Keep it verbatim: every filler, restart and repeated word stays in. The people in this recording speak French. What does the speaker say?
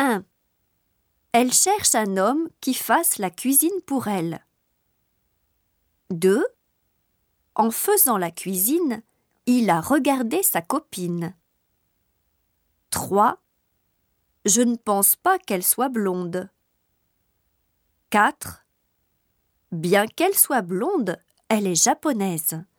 un. Elle cherche un homme qui fasse la cuisine pour elle. deux. En faisant la cuisine, il a regardé sa copine. trois. Je ne pense pas qu'elle soit blonde. quatre. Bien qu'elle soit blonde, elle est japonaise.